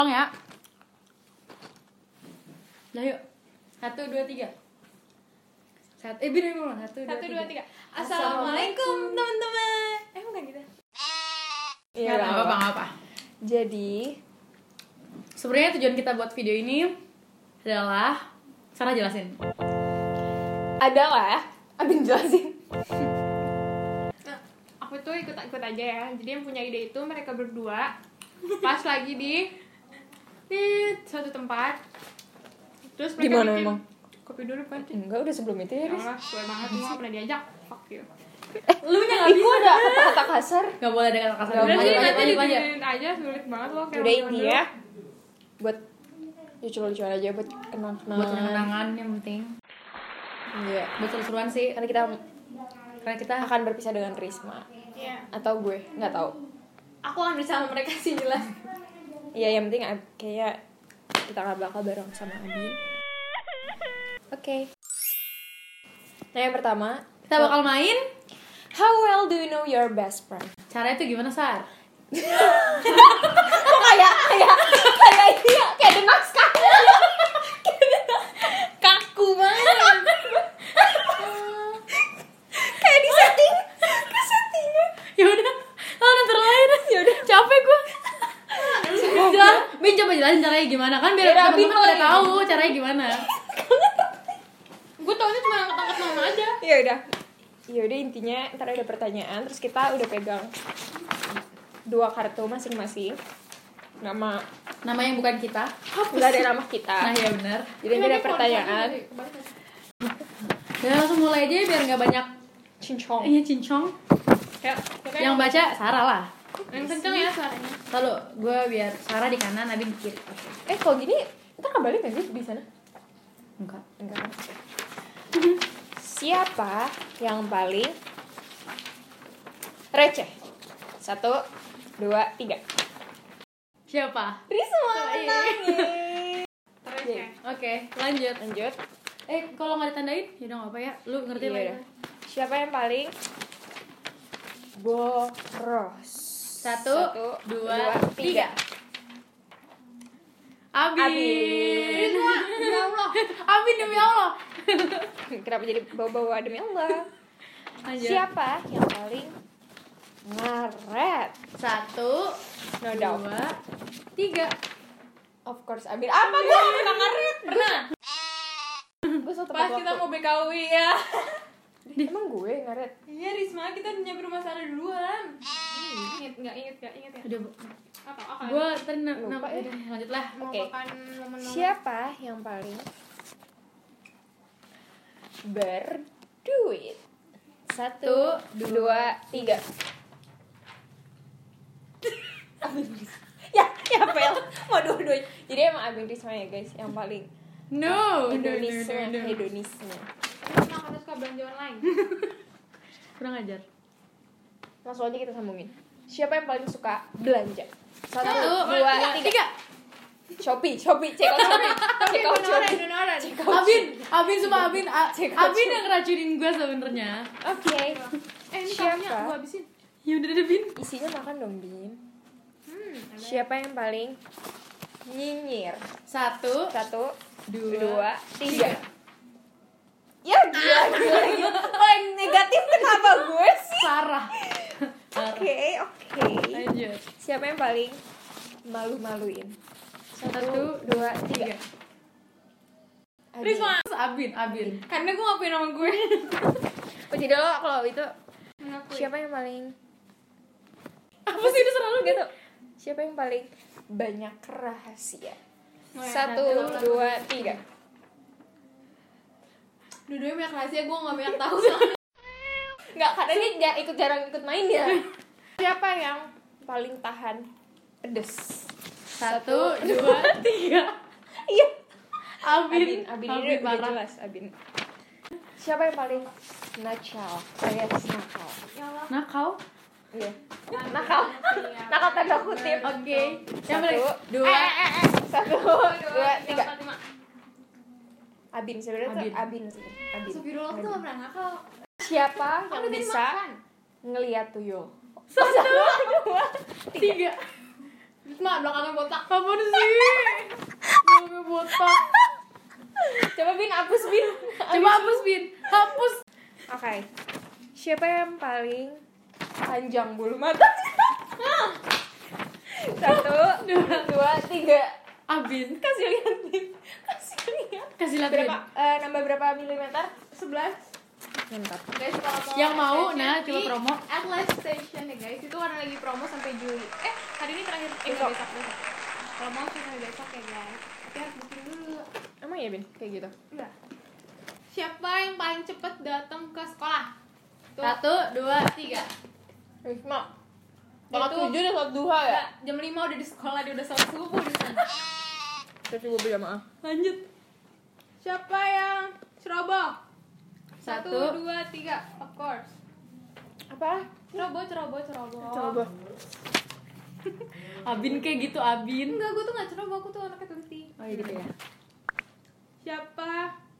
Ya. Lah yuk. 1 2 3. Bin mulai. 1 2 3. Assalamualaikum teman-teman. Bukan gitu. Iya, enggak apa-apa. Jadi, sebenarnya tujuan kita buat video ini adalah Sarah jelasin. adalah Abin jelasin. Aku tuh ikut aja ya. Jadi yang punya ide itu mereka berdua pas lagi di suatu tempat. Terus mereka Di mana bikin emang? kopi dulu kan. Enggak, udah sebelum itu ya, Ya Riz. Allah, gue banget gue gak pernah diajak. Fuck you. Lu nya enggak Iku ada kata kasar. Enggak boleh ada kata-kata. Nggak Udah boleh. sih Lanjut, nanti lanjut. didengerin aja, sulit banget loh kayak Udah zaman ini dulu. ya. Buat lucu-lucuan aja, buat kenang-kenangan. Buat kenangan yang penting. Iya. Buat seru-seruan sih. Karena kita Karena kita akan berpisah dengan Risma. Iya. Atau gue, nggak tahu. Aku akan bersama mereka sih jelas. Iya, yang penting kayak kita nggak bakal bareng sama Abin. Oke. Nah, yang pertama, kita bakal main. how well do you know your best friend? Caranya tuh gimana, Sar? Kok kayak ini ya, kayak The Naskah. Kaku banget. Kayak di setting. Ya udah. Oh, nanti lain. Ya udah. Capek gua. Bin coba jelasin caranya gimana kan biar Ya, Bin teman-teman udah mulai. tahu caranya gimana. Gue taunya cuma angkat-angkat nama aja. Ya udah intinya ntar ada pertanyaan, terus kita udah pegang 2 kartu masing-masing. Nama Nama yang bukan kita. nggak ada nama kita. Nah, ya benar. Jadi nanti ada pertanyaan. Ya langsung mulai aja biar nggak banyak Cincong. cincong. Ya, Yang baca Sarah lah. yang kenceng ya suaranya. Lalu gue biar Sarah di kanan, Nabi di kiri. Kalau gini ntar kembali nggak sih di sana? Enggak. Enggak. Siapa yang paling receh? 1, 2, 3. Siapa? Risma Terus ya. Oke, lanjut. Lanjut. Kalau nggak ditandain, ya udah nggak apa ya. Lu ngerti Iya lah ya. udah. Siapa yang paling boros? 1, 2, 2, 3. 3. Abin. Ya Allah. Abin demi Allah. Kenapa jadi bawa-bawa demi Allah? Lanjut. Siapa yang paling ngaret? 1, No doubt. 2, 3. Of course, Abin. Apa gue pernah ngaret? Pernah. Gue selalu tepat Pas kita waktu. mau BKW ya. Emang gue ngaret? Iya Risma, kita udah nyampe rumah Sarah duluan. Ingat ya? Udah, Apa? gue tadi Lupa ya. lanjut lah. Oke. Melupakan momen-momen. Siapa yang paling berduit? 1, 2, 3. Abin Risma. Ya Pel. Mau dua-duanya. Jadi emang Abin Risma ya guys, yang paling No. hedonisme. Emang harus suka belanja online. Kurang ajar. Langsung aja kita sambungin. Siapa yang paling suka belanja? 1, 1, 2, 3. 3. Shopee, check out Shopee. Check out Shopee. Check out Abin semua Abin. Check out Abin yang ngeracunin gue sebenarnya. Oke. Ini Siapa? tahunya gue habisin. Ya udah deh, Bin. Isinya makan dong, Bin. Siapa yang paling nyinyir? 1, 1, 2, 3. 3. Ya gila. Paling negatif kenapa gue sih? Sarah. Oke. Lanjut. Siapa yang paling malu-maluin? 1, 2, 3. Risma. Abin. Karena gue ngapain nama gue. Oh, jadi lo kalau itu Mengakui. siapa yang paling Apa sih itu selalu gitu? Siapa yang paling banyak rahasia? Oh ya, 1, 2, 3. Dua-duanya banyak rahasia, gue gak banyak tahu soalnya. Enggak, karena dia jarang ikut main ya. Siapa yang paling tahan pedes? 1, 2, 3. Iya. Abin ini udah parah. jelas Abin. Siapa yang paling nakal? Alias nakal. Ya Allah. Nakal. Iya. Nakal. Nakal tanda kutip. Oke. Yang 1, paling 2. 1, 2, 3. 5. Abin sebenarnya tuh Abin. Abin sebenarnya. Abin. Astagfirullah, aku tuh gak pernah nakal. Siapa Aku yang udah bisa makan. ngelihat tuyul? 1, 2, 3. Risma belakangnya botak. Apa sih? Belakangnya botak. Coba Bin, hapus Bin. Coba hapus, Bin. Hapus. Oke. Siapa yang paling panjang bulu mata? 1, 2, 3. Abin. Kasih lihat Bin. Kasih lihat. Kasih lihat, Bin. Berapa? Nambah berapa milimeter? 11. Mantap. Guys, kalau Yang mau, station nah, coba di promo. Atlas Station ya guys, itu karena lagi promo sampai Juli. Hari ini terakhir, Besok. besok. Kalau mau sih sampai besok ya guys. Tapi harus booking dulu. Emang ya Bin? Kayak gitu? Enggak. Siapa yang paling cepet datang ke sekolah? Tuh. 1, 2, 3. Risma. Itu- Bakal 7 dan sholat duha ya? Enggak, jam 5 udah di sekolah, dia udah sholat subuh di sana. Terus gue berjamaah. Lanjut. Siapa yang ceroboh? 1, 1. 2, 3. Of course. Apa? Ceroboh. Coba. Abin kayak gitu, Abin. Enggak, gue tuh gak ceroboh, aku tuh anaknya teliti. Oh iya gitu ya. Siapa?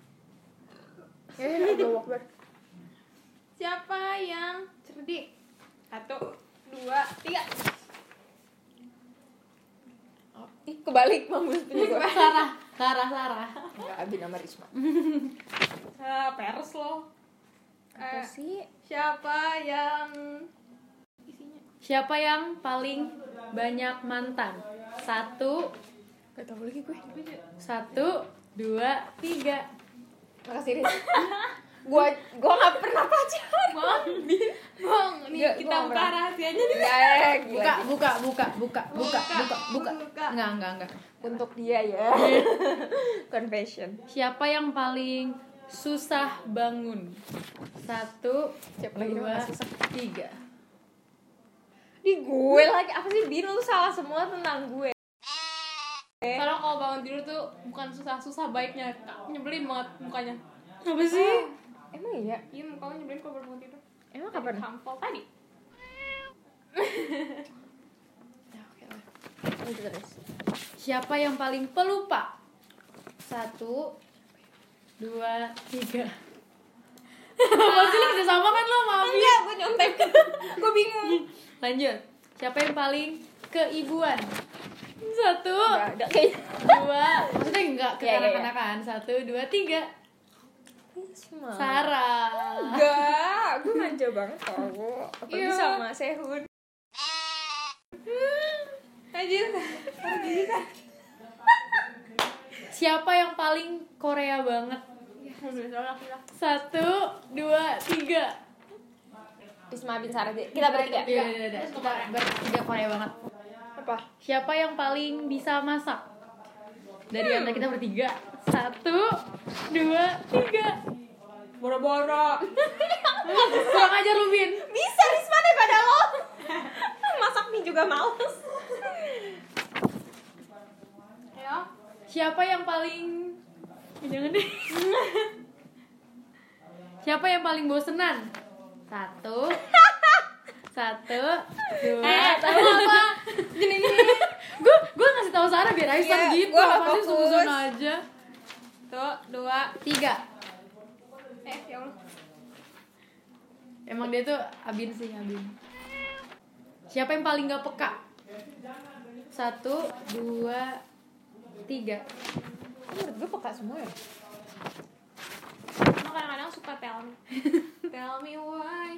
Siapa yang cerdik? 1, 2, 3. Ih, kebalik mampus punya gue. Sarah. Enggak, Abin sama Risma. Pers lo. Apa sih? Siapa yang isinya? Siapa yang paling banyak mantan? 1, Gak tau lagi gue. 1, 2, 3. Makasih Riz. Gua gak pernah pacaran. Bang, nih Nggak, kita gua buka nggak. rahasianya nih. Buka. Buka. Enggak. Untuk dia ya. Confession. Siapa yang paling susah bangun? 1, Siapa lagi yang 2, paling susah? 3. Di gue lagi apa sih Bin, lu salah semua tentang gue. Soalnya kalau bangun tidur tuh bukan susah baiknya, nyebelin banget mukanya. Apa sih? Emang iya? Iya, mukanya nyebelin kalau baru bangun tidur. Emang kapan? Tampol tadi. Ya oke lah. Lanjut terus. Siapa yang paling pelupa? 1, 2, 3. Apa sih, lu bisa sama kan lo sama Abin? Enggak, gue nyontek. Gue bingung. Lanjut. Siapa yang paling keibuan? 1, Enggak ada kayaknya. 2. Maksudnya enggak ke Iya, iya, iya. kanak-kanakan. 1, 2, 3. Risma. Sarah. Enggak, gue manja banget tau. Apalagi Iya. sama Sehun. Anjir. Siapa yang paling Korea banget? Alhamdulillah. 1, 2, 3. Risma bin Sarah. Kita bertiga. Iya. Kita bertiga Korea banget. Apa? Siapa yang paling bisa masak? Dari antara kita bertiga. 1, 2, 3. Boro-boro. Kurang aja lu, Bin. Bisa Risma daripada lo. Masak mie juga males. Ayo. Siapa yang paling jangan deh. Siapa yang paling bosenan? 1, 2. Tahu apa? Gini. Gue ngasih tahu Sarah biar Aisyah Iya, gitu. gua nggak Apa sih fokus. susun aja. Tuh, 2. 3. Ya Allah. Emang dia tuh Abin sih, Abin. Siapa yang paling gak peka? 1, 2, 3. Menurut gue peka semua ya. Cuma kadang-kadang suka tell me. Tell me why.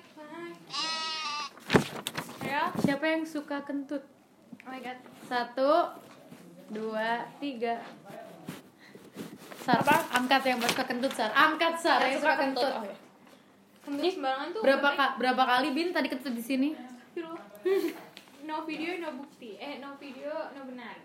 Ayo. Siapa yang suka kentut? Oh my god. 1, 2, 3. Sar, angkat yang suka kentut, Sar. Angkat, Sar. Yang suka kentut. Oh, ya. Kentut sembarangan tuh. Berapa kali Bin tadi kentut di sini? No video, no bukti. No video, no benar.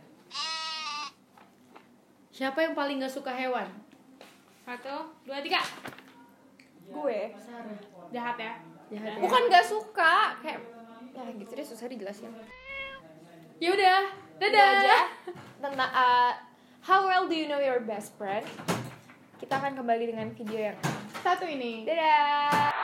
Siapa yang paling gak suka hewan? 1, 2, 3. Gue. Jahat ya. Jahat ya. Bukan gak suka, kayak ya gitu deh, susah dijelasin. Ya udah, Itu dadah. aja tentang how well do you know your best friend. Kita akan kembali dengan video yang Satu ini. dadah.